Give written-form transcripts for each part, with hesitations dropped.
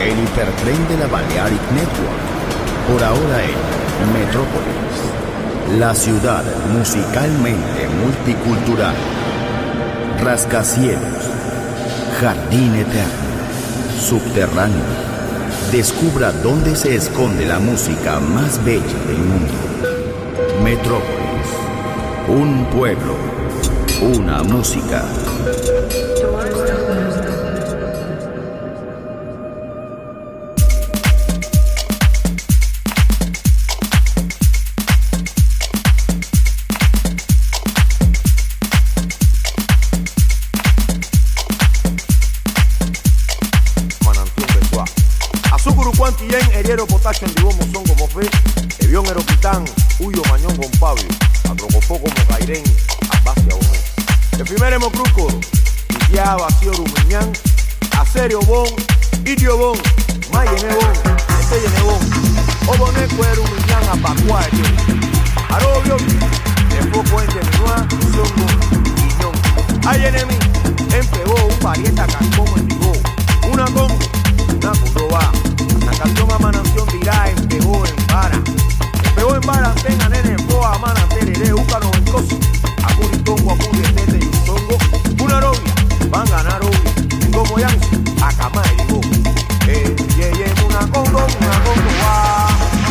el hipertren de la Balearic Network, por ahora en Metrópolis, la ciudad musicalmente multicultural, rascacielos, jardín eterno, subterráneo. Descubra dónde se esconde la música más bella del mundo. Metrópolis, un pueblo, una música. Potacho en Divo Mozón como fe, Evión Eropitán, Huyo Mañón con Pablo, Atrocofó como Cairén, Abacia Bomé. El primer Hemocruco, Itia Vacío Rumiñán, Acerio Bon, Idio Bon, Mayene Bon, Estelle Bon, Oboné Cuero Rumiñán, Apacuario, Arobio, Enfoco en Geminoa, Zongo, Guiñón. Hay enemy, empegó un parieta cancón en Divo, una congo, una condoba. La canción a Mananción dirá, empegó en vara, tenga nene, poa, mana, tereré, úcano, vencoso, acuritongo, acurietete y un zongo, una novia, van a ganar obvio, en como yanzo, a cama y digo, una congo, va.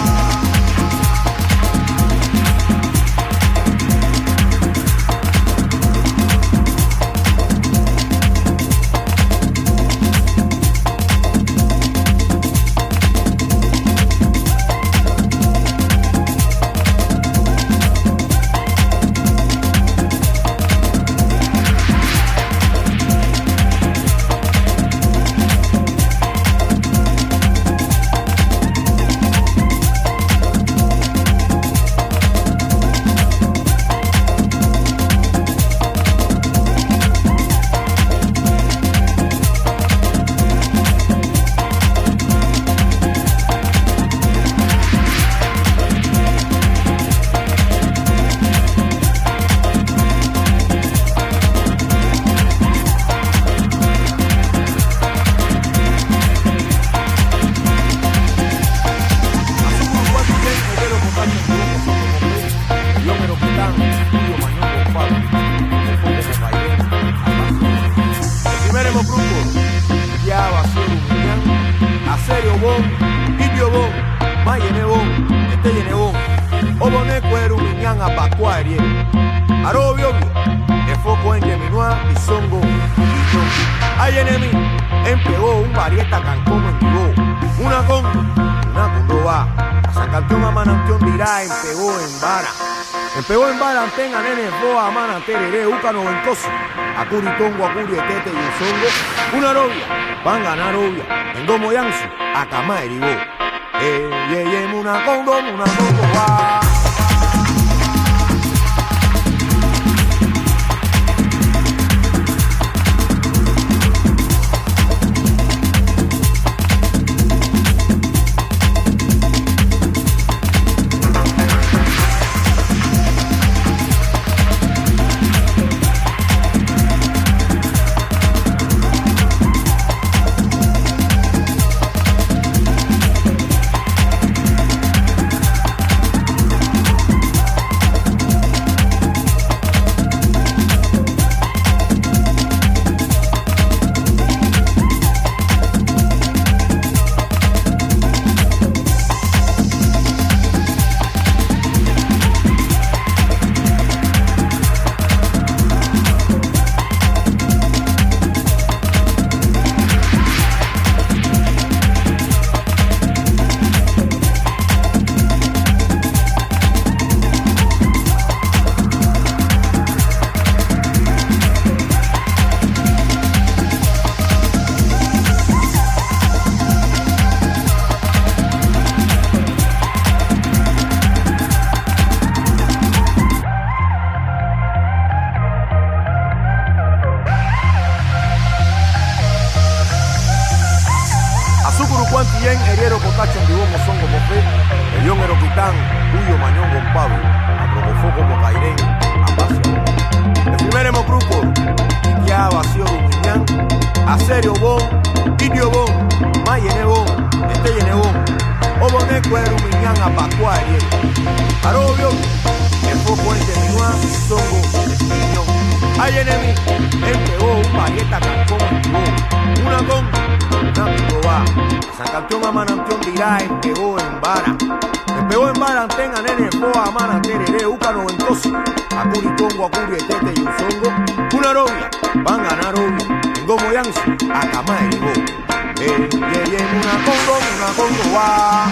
Empegó en vara, tenga nene, boa, mana, tereré, úcano, vencoso, acuritongo, acurietete y un zongo, una novia, van a ganar obvia, en domo yanzo, a cama y digo, una congo, va. Cuantillén, Heriero, Potacho, en Divo Mozón como fe, Evión Eropitán, Huyo Mañón con Pablo, Atrocofó como Cairén, Abacia. El primer Hemocruco, Itia Vacío Rumiñán, Acerio Bon, Idio Bon, Ma yenebo, este yenebo. Obone kwero minyanga pakwa ye. Arobio, el foco en de minua, songo, niño. Ay enemi, él pegó un paqueta cancón, una con, una picoba. San Campeón a Manantión dirá, él pegó en vara. Él pegó en vara, tenga nene, poa, mana, tereré, uca noventoso. Acuri congo, acuri, etete y un songo. Una robia, van a ganar obvio. En gomo yansu, a cama de go. Una congo, va.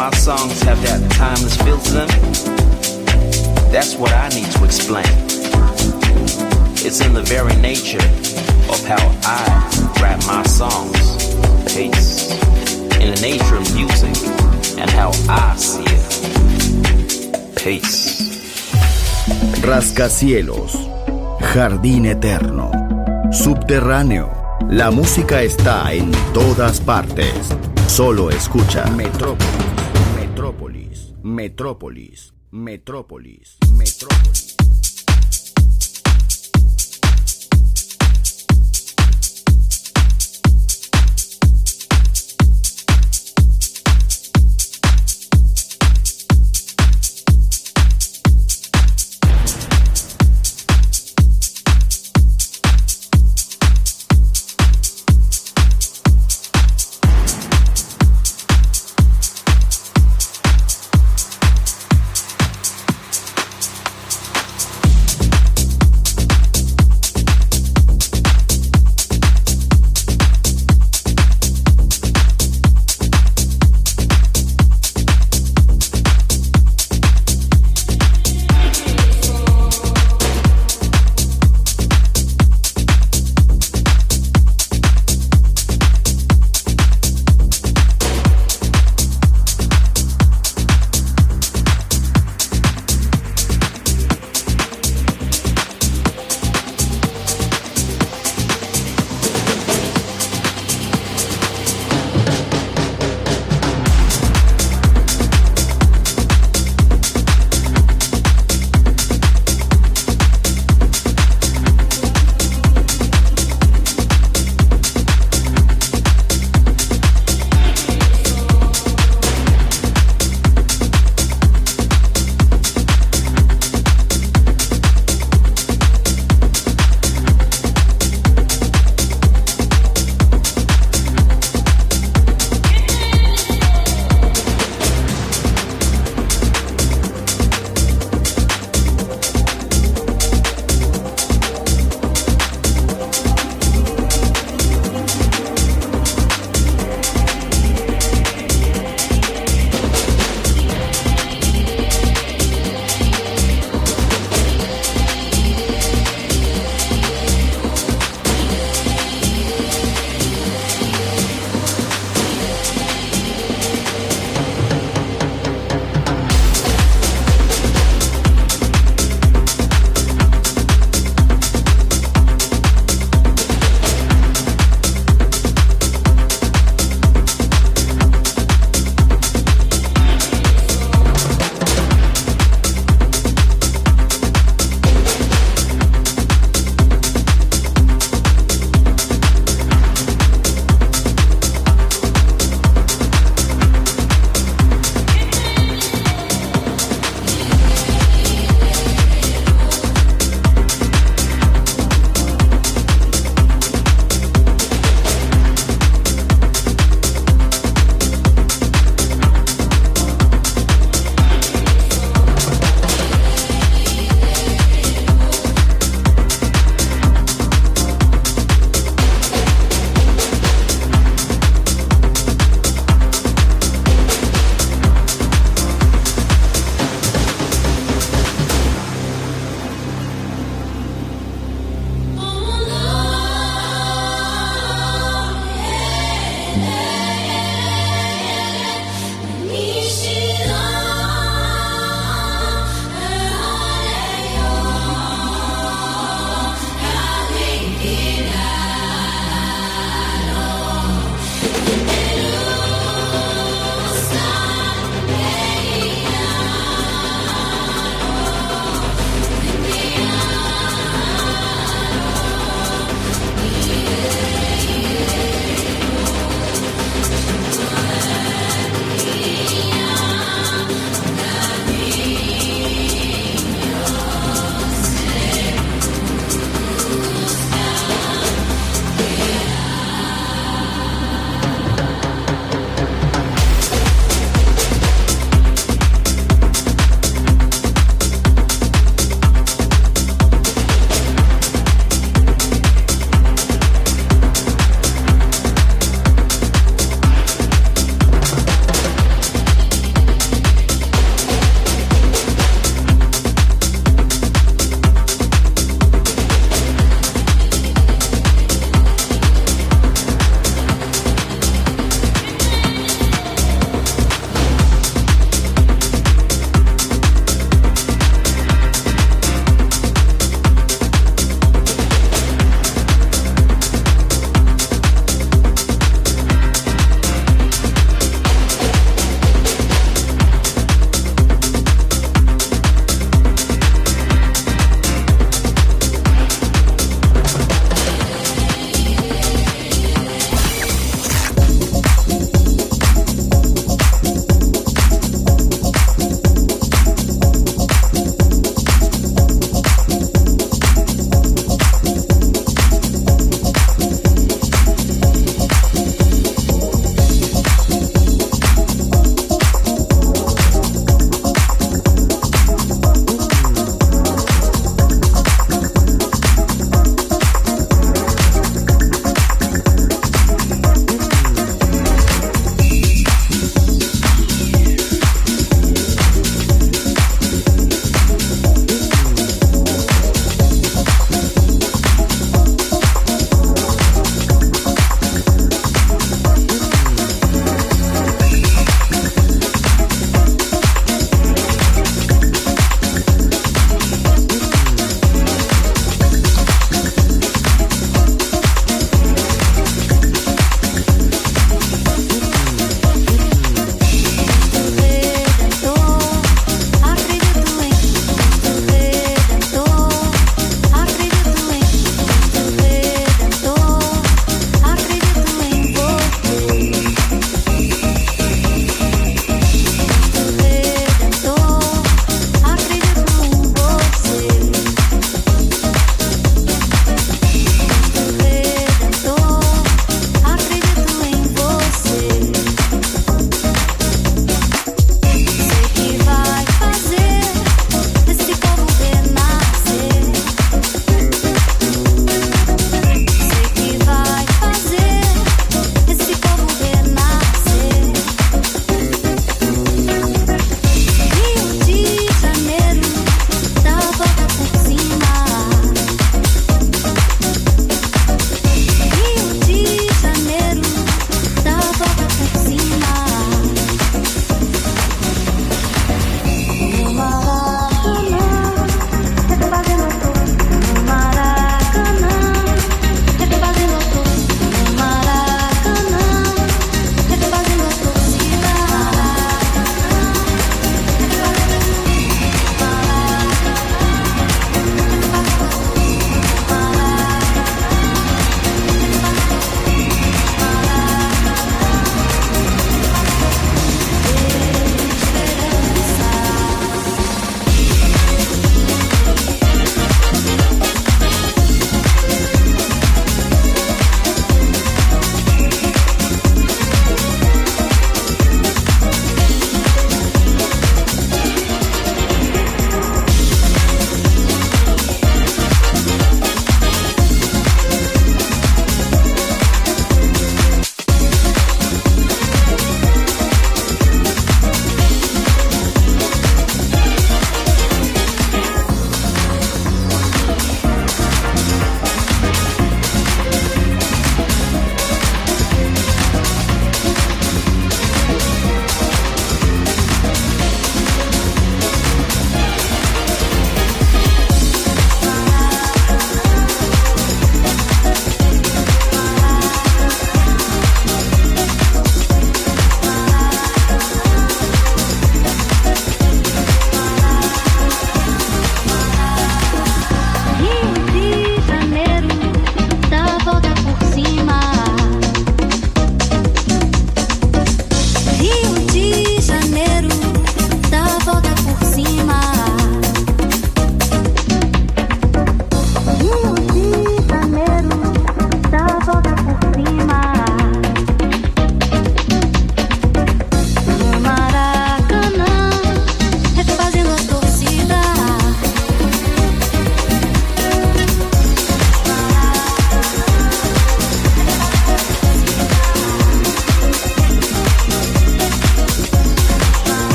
my songs have that timeless feel to them? That's what I need to explain. It's in the very nature of how I rap my songs. Pace. In the nature of music and how I see it. Pace. Rascacielos, jardín eterno, subterráneo. La música está en todas partes. Solo escucha Metrópolis, Metrópolis, Metrópolis, Metrópolis, Metrópolis.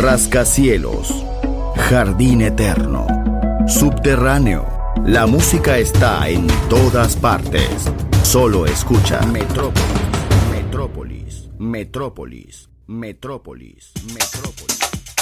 rascacielos, jardín eterno, subterráneo. La música está en todas partes. Solo escucha Metrópolis, Metrópolis, Metrópolis, Metrópolis, Metrópolis.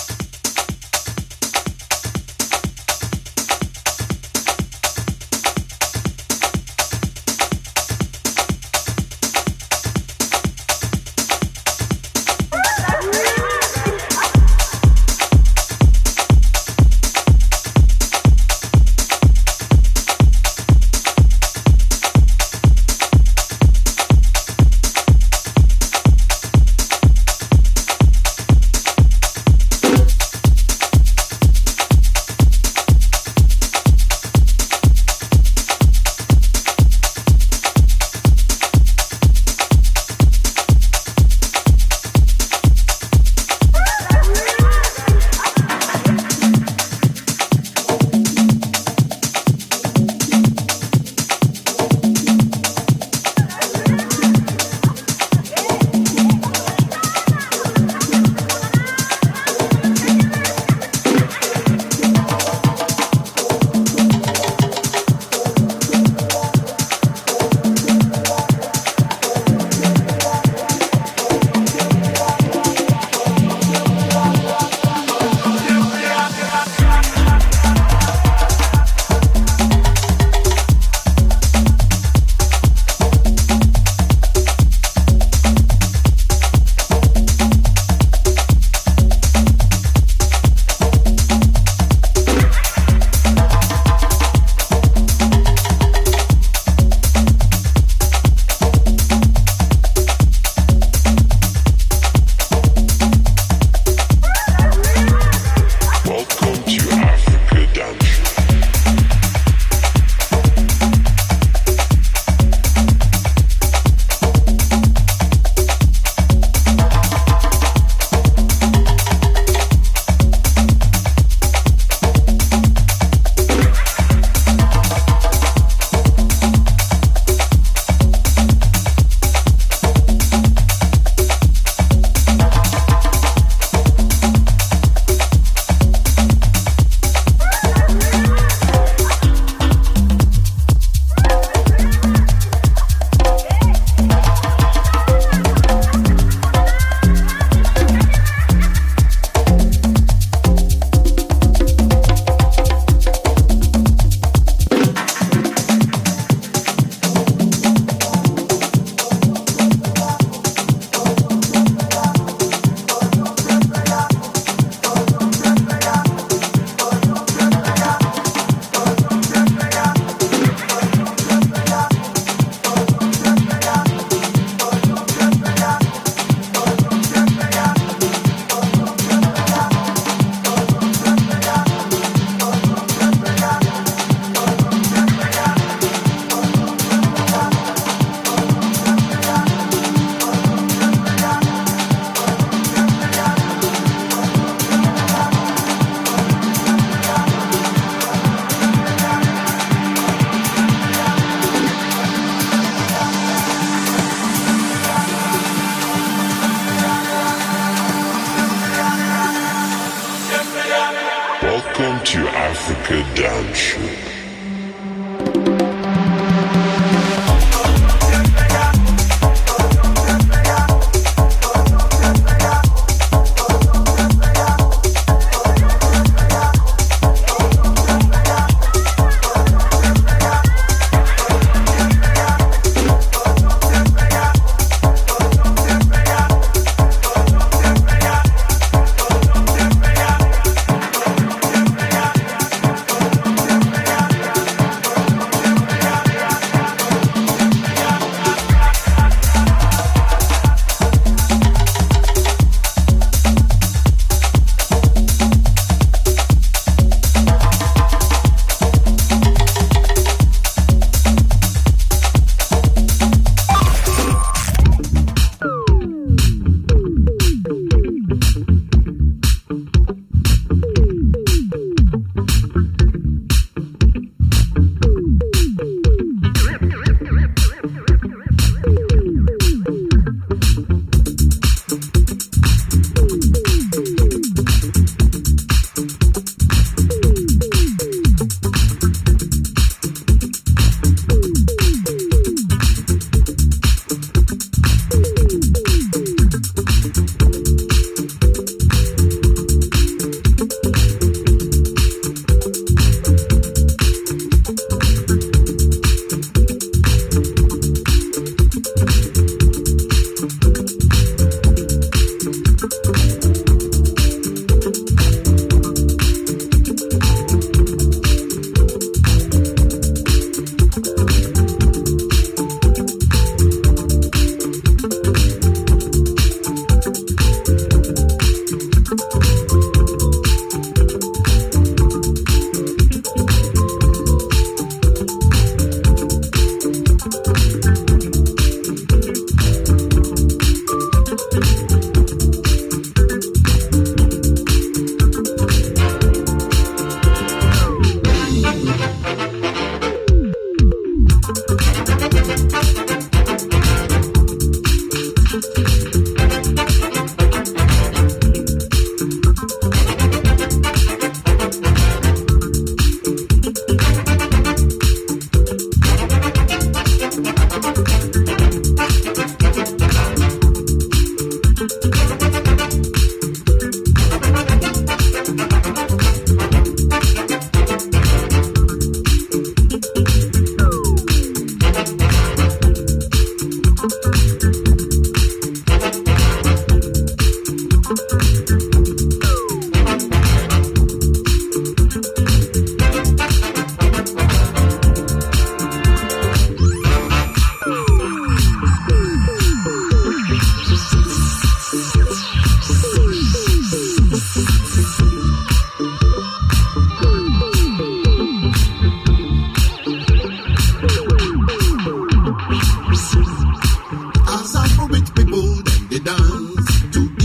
to Africa Dance.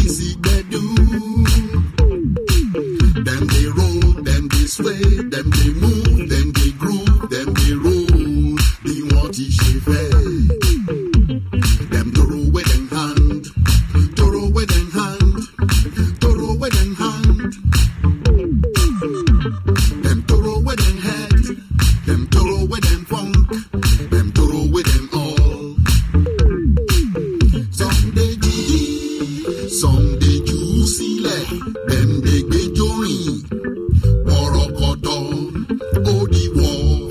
easy they do. Them they roll, them they sway, them they move, them they groove, them they roll. They want to shave them throw with them hand, throw with them hand, throw with them hand. Them throw with them head, them throw with them funk, them throw with them all. Some they juicy, some they juicy like them they get joy. Worokoto, odi war.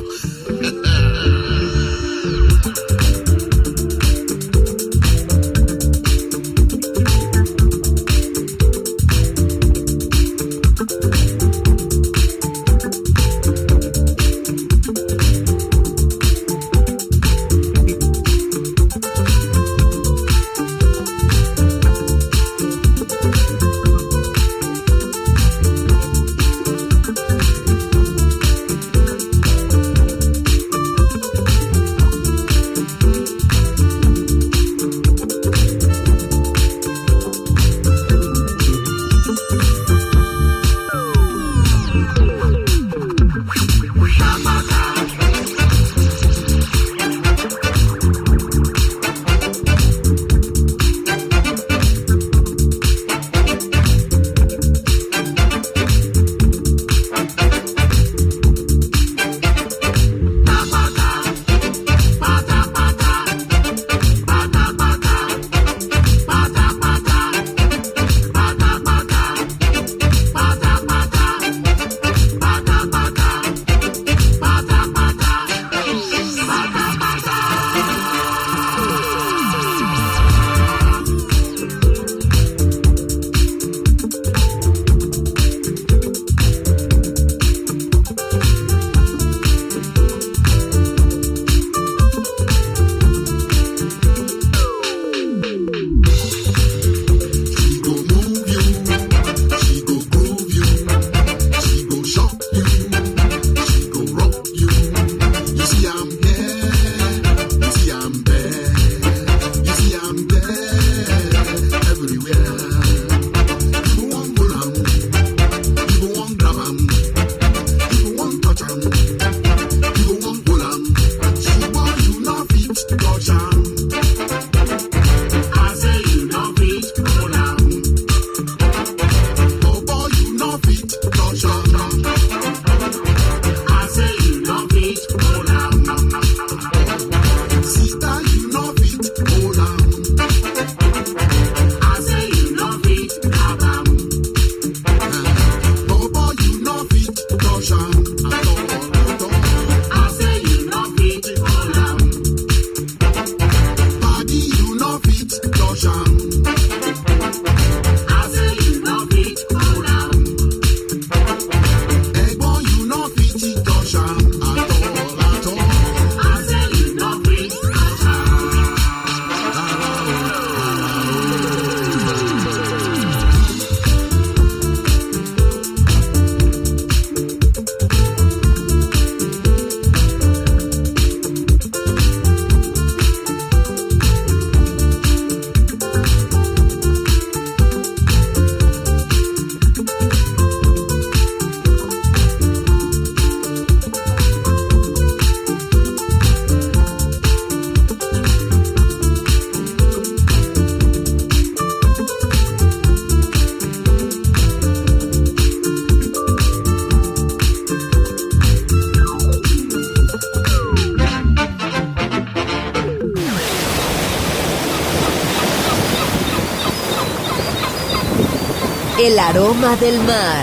El aroma del mar,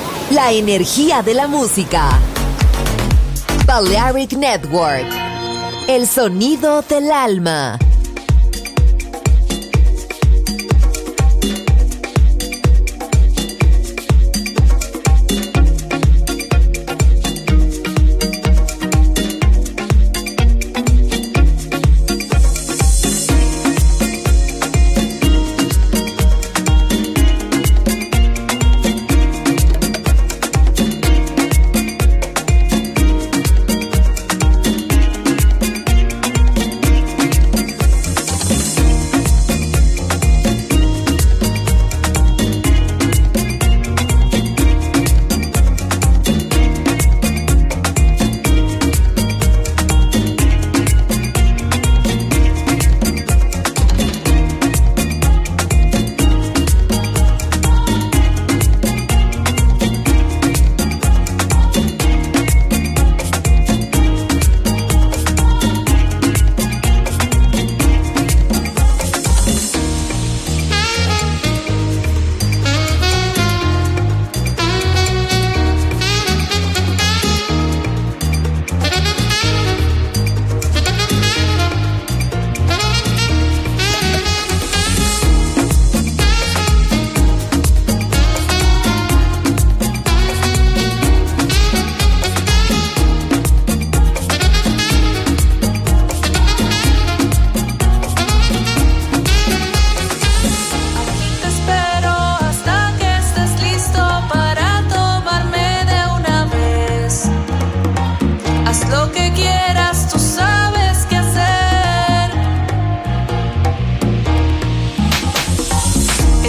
la energía de la música. Balearic Network, el sonido del alma.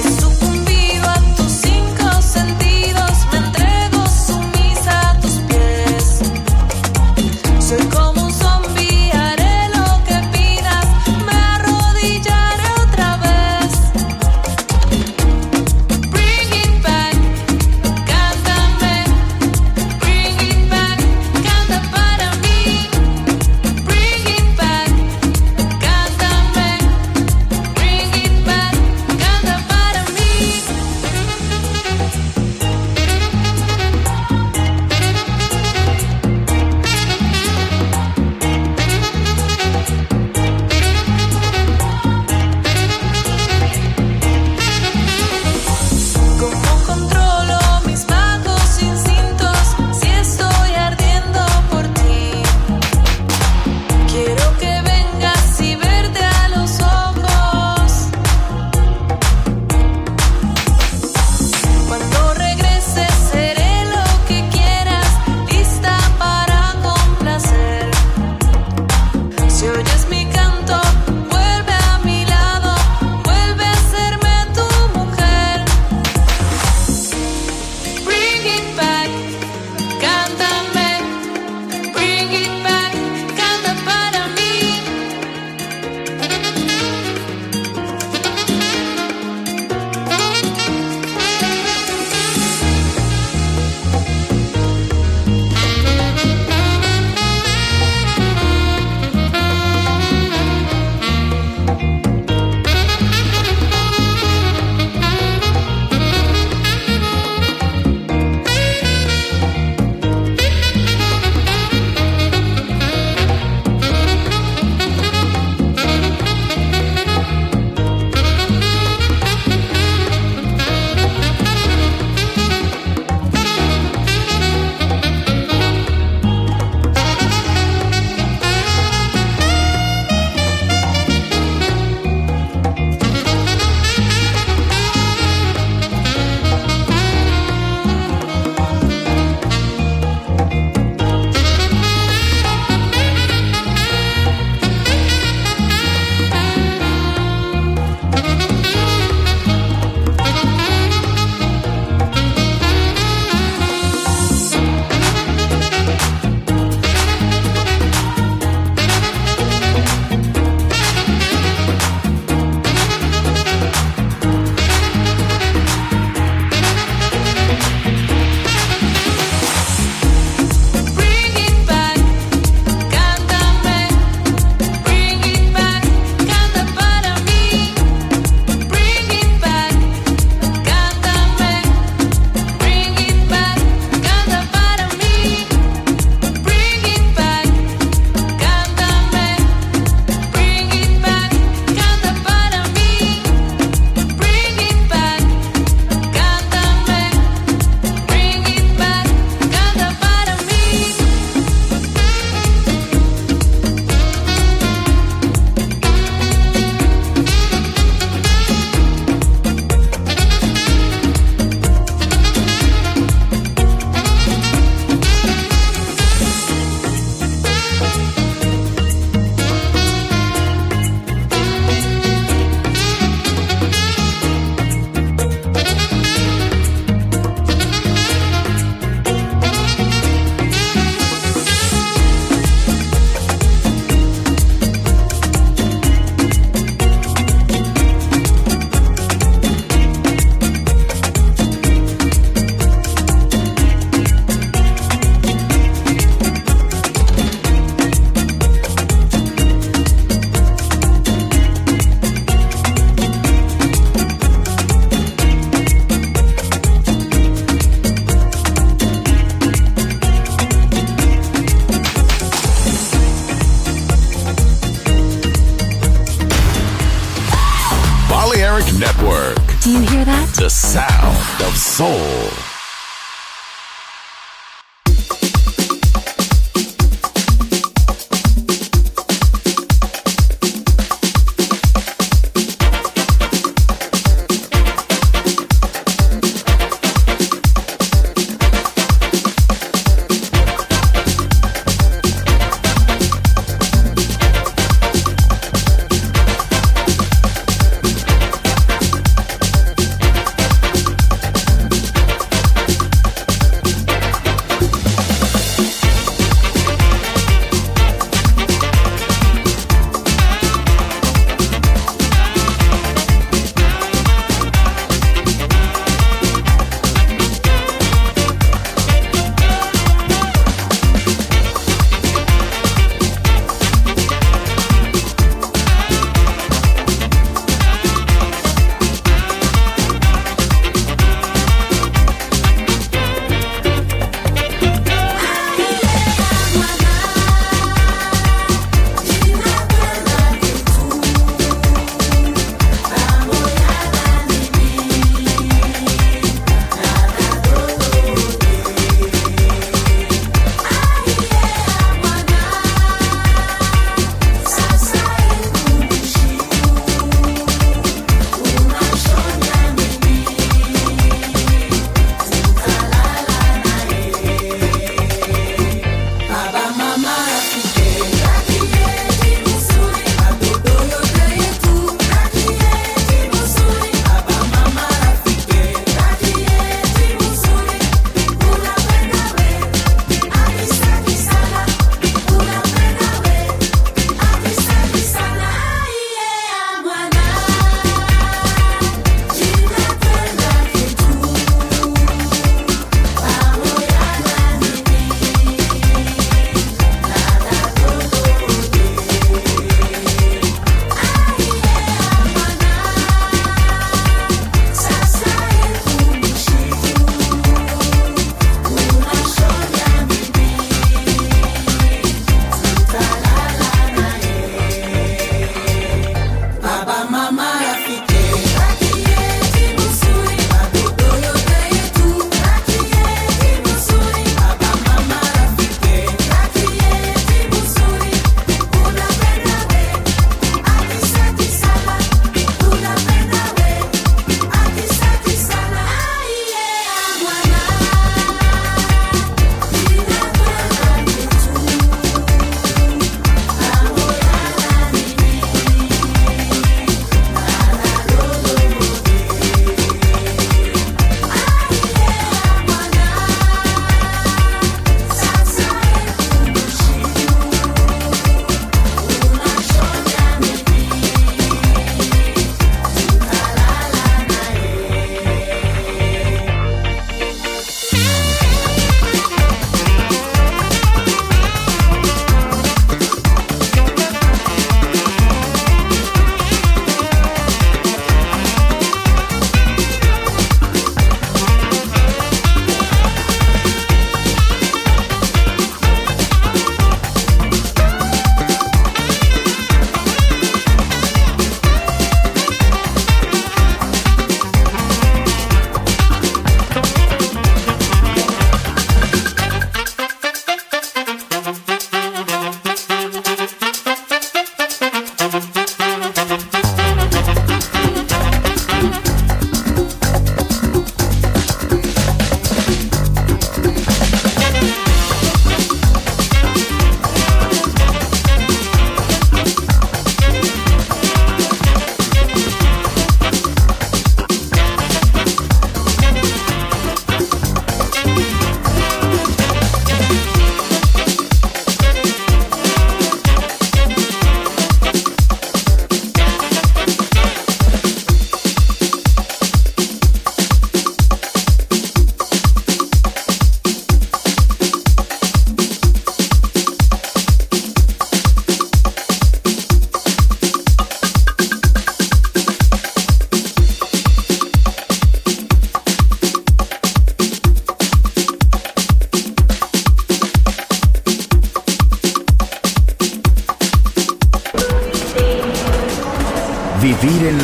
Network. Do you hear that? The sound of soul.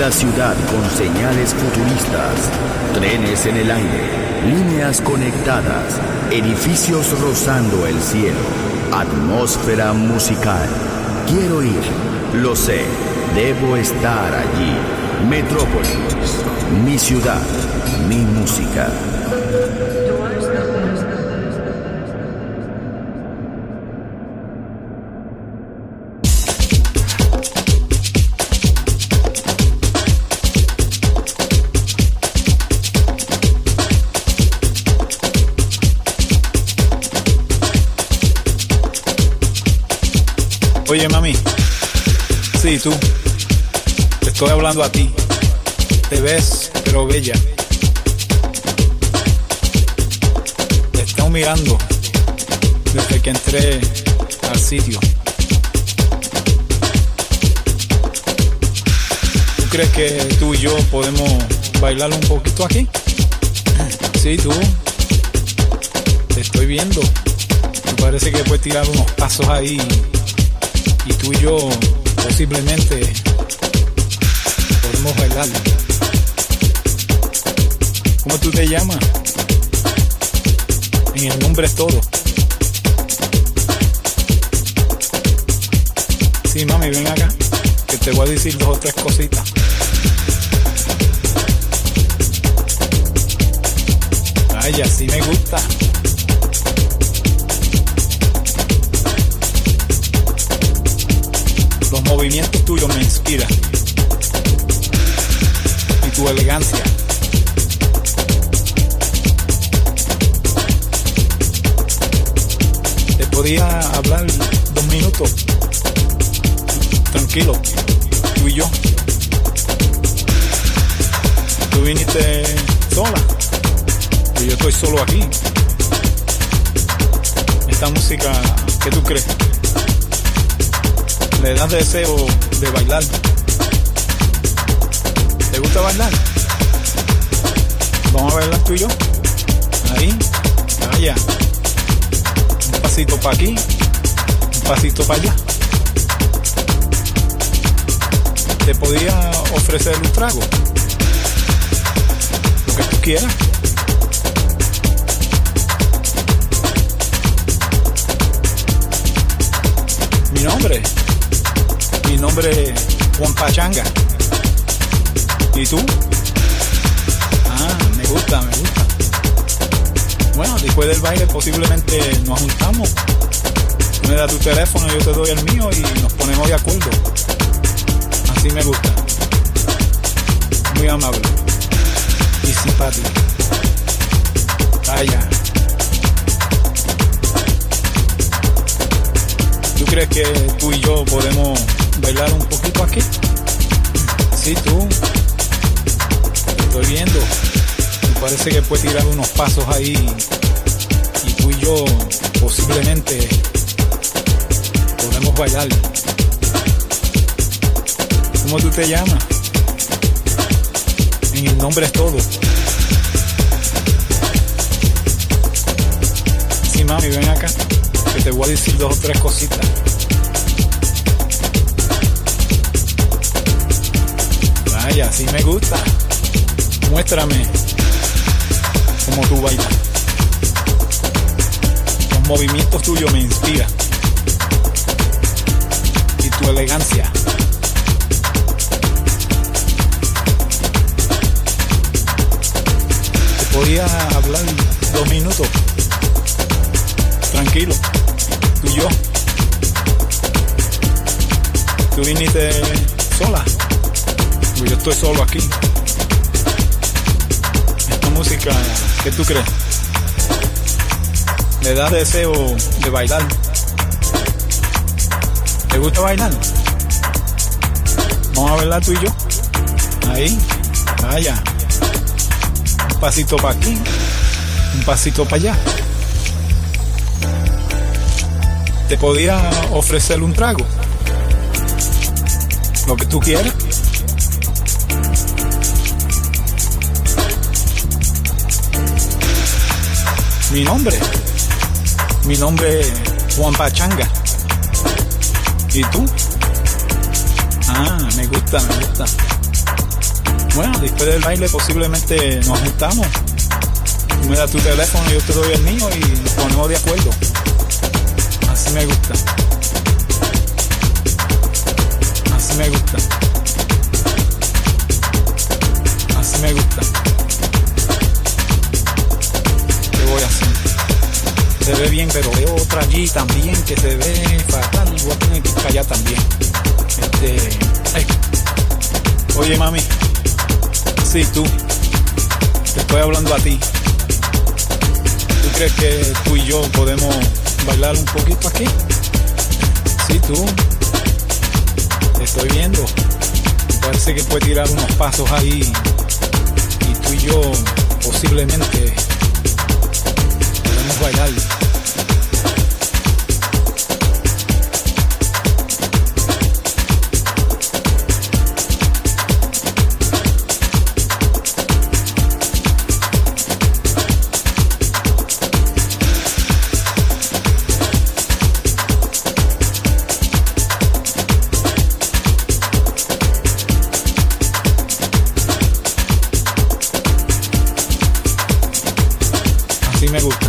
la ciudad con señales futuristas, trenes en el aire, líneas conectadas, edificios rozando el cielo, atmósfera musical. Quiero ir, lo sé, debo estar allí. Metrópolis, mi ciudad, mi música. Oye, mami, sí, tú, te estoy hablando a ti. Te ves, pero bella. Te estoy mirando desde que entré al sitio. ¿Tú crees que tú y yo podemos bailar un poquito aquí? Sí, tú, te estoy viendo. Me parece que puedes tirar unos pasos ahí. Y tú y yo posiblemente podemos bailar. ¿Cómo tú te llamas? En el nombre es todo. Sí, mami, ven acá, que te voy a decir 2 o 3 cositas. Ay, así me gusta. Los movimientos tuyos me inspiran. Y tu elegancia. Te podía hablar 2 minutos. Tranquilo. Tú y yo. Tú viniste sola. Y yo estoy solo aquí. Esta música, ¿qué tú crees? Le das deseo de bailar. ¿Te gusta bailar? Vamos a bailar tú y yo. Ahí, allá. Un pasito para aquí, un pasito para allá. Te podía ofrecer un trago. Lo que tú quieras. Mi nombre es Juan Pachanga. ¿Y tú? Ah, me gusta. Bueno, después del baile posiblemente nos juntamos. Tú me das tu teléfono, yo te doy el mío y nos ponemos de acuerdo. Así me gusta. Muy amable y simpático. Vaya. ¿Tú crees que tú y yo podemos bailar un poquito aquí? Sí, tú. Te estoy viendo. Me parece que puedes tirar unos pasos ahí. Y tú y yo posiblemente podemos bailar. ¿Cómo tú te llamas? En el nombre es todo. Sí, mami, ven acá, que te voy a decir 2 o 3 cositas. Vaya, así me gusta. Muéstrame cómo tú bailas. Los movimientos tuyos me inspiran. Y tu elegancia. Te podía hablar 2 minutos. Tranquilo, tú y yo. Tú viniste sola. Yo estoy solo aquí. Esta música, ¿qué tú crees? Me da deseo de bailar. ¿Te gusta bailar? Vamos a bailar tú y yo. Ahí, vaya. Un pasito para aquí, un pasito para allá. Te podía ofrecer un trago. Lo que tú quieras. Mi nombre es Juan Pachanga. ¿Y tú? Ah, me gusta. Bueno, después del baile posiblemente nos juntamos. Tú me das tu teléfono, yo te doy el mío y nos ponemos de acuerdo. Así me gusta. Así me gusta. Así me gusta. ¿Qué voy a hacer? Se ve bien, pero veo otra allí también que se ve fatal. Voy a tener que ir para allá también. Ay. Oye, mami. Sí, tú. Te estoy hablando a ti. ¿Tú crees que tú y yo podemos bailar un poquito aquí? Sí, tú. Te estoy viendo. Parece que puedes tirar unos pasos ahí. Y tú y yo posiblemente podemos bailar. Me gusta.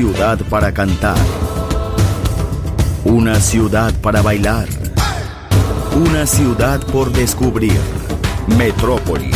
ciudad para cantar, una ciudad para bailar, una ciudad por descubrir. Metrópolis.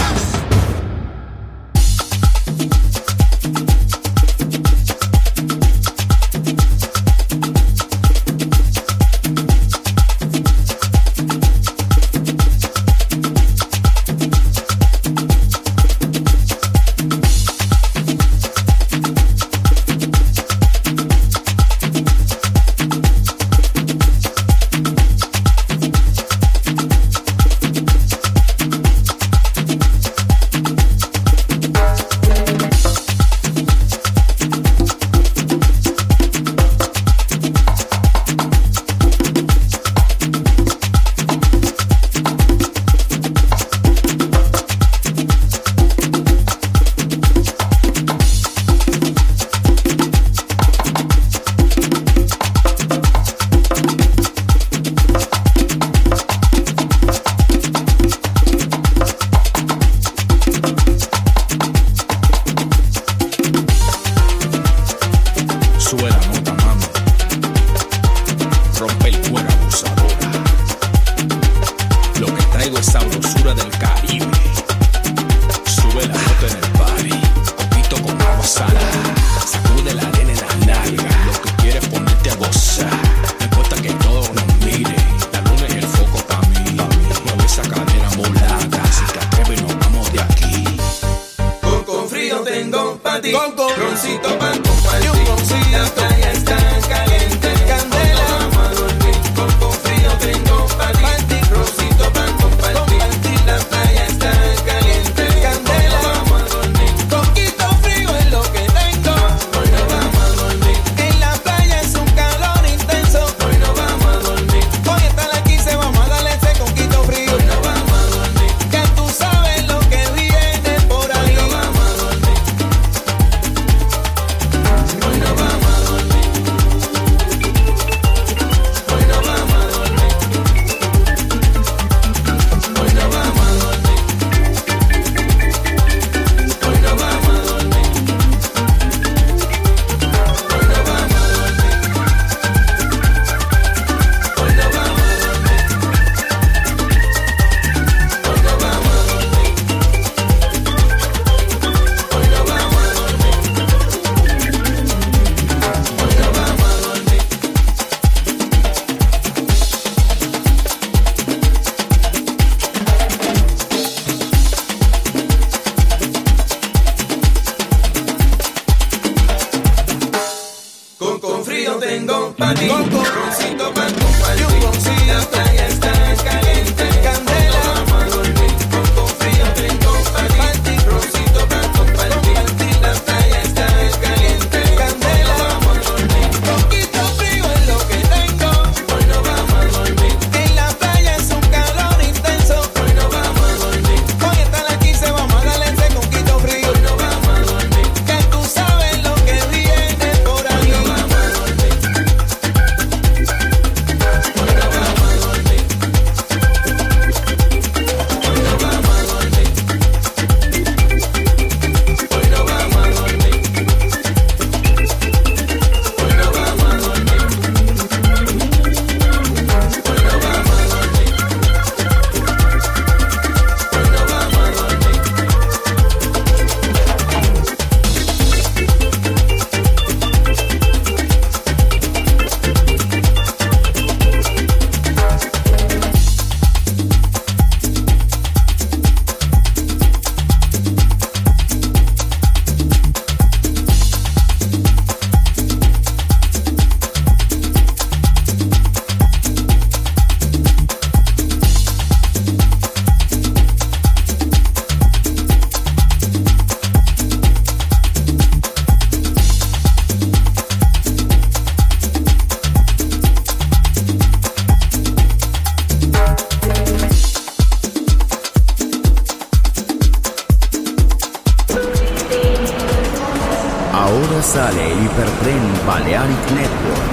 Sale el hipertren Balearic Network.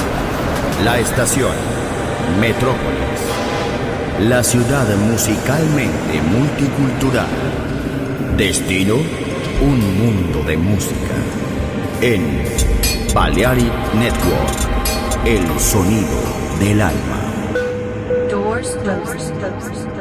La estación Metrópolis. La ciudad musicalmente multicultural. Destino, un mundo de música. En Balearic Network, el sonido del alma. Doors closed.